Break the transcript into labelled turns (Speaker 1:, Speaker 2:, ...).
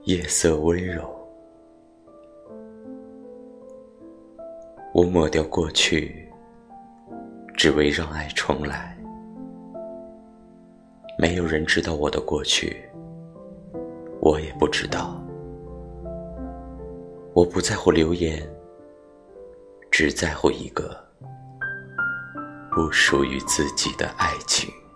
Speaker 1: 夜色温柔。我抹掉过去，只为让爱重来。没有人知道我的过去，我也不知道。我不在乎流言，只在乎一个不属于自己的爱情。